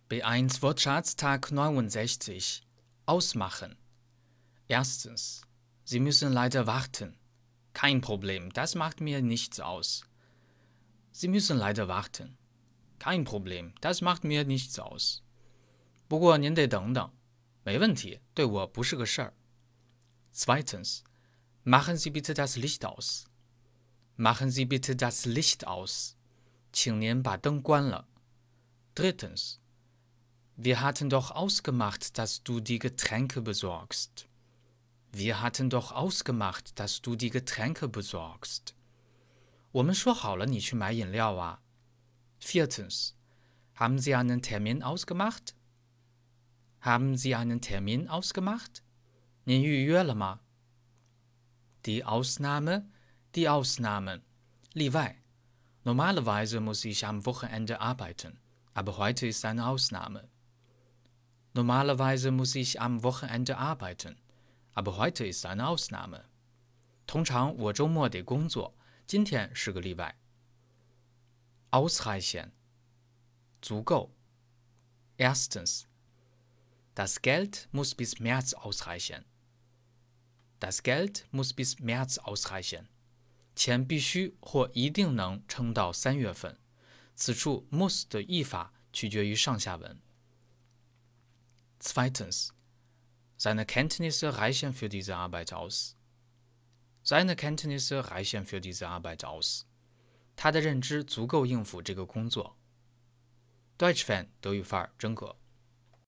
B1 Wortschatztag 69. Ausmachen. Erstens. Sie müssen leider warten. Kein Problem, das macht mir nichts aus. Sie müssen leider warten. Kein Problem, das macht mir nichts aus. 不过您得等等，没问题，对我不是个事儿。Zweitens. Machen Sie bitte das Licht aus. Machen Sie bitte das Licht aus. 请您把灯关了。Drittens. Wir hatten doch ausgemacht, dass du die Getränke besorgst. Wir hatten doch ausgemacht, dass du die Getränke besorgst. 我们说好了你去买饮料啊。Viertens. Haben Sie einen Termin ausgemacht? Haben Sie einen Termin ausgemacht? 您预约了吗？ Die Ausnahme, die Ausnahmen. 例外。Normalerweise muss ich am Wochenende arbeiten, aber heute ist eine Ausnahme. Normalerweise muss ich am Wochenende arbeiten, aber heute ist eine Ausnahme. 通常我周末得工作，今天是个例外。Ausreichen. 足够。Erstens. Das Geld muss bis März ausreichen. Das Geld muss bis März ausreichen. 钱必须或一定能撑到3月份。此处 muss 的译法取决于上下文。Zweitens. Seine Kenntnisse reichen für diese Arbeit aus. Seine Kenntnisse reichen für diese Arbeit aus. 他的认知足够应付这个工作。Deutsch Fan 德语范儿真格。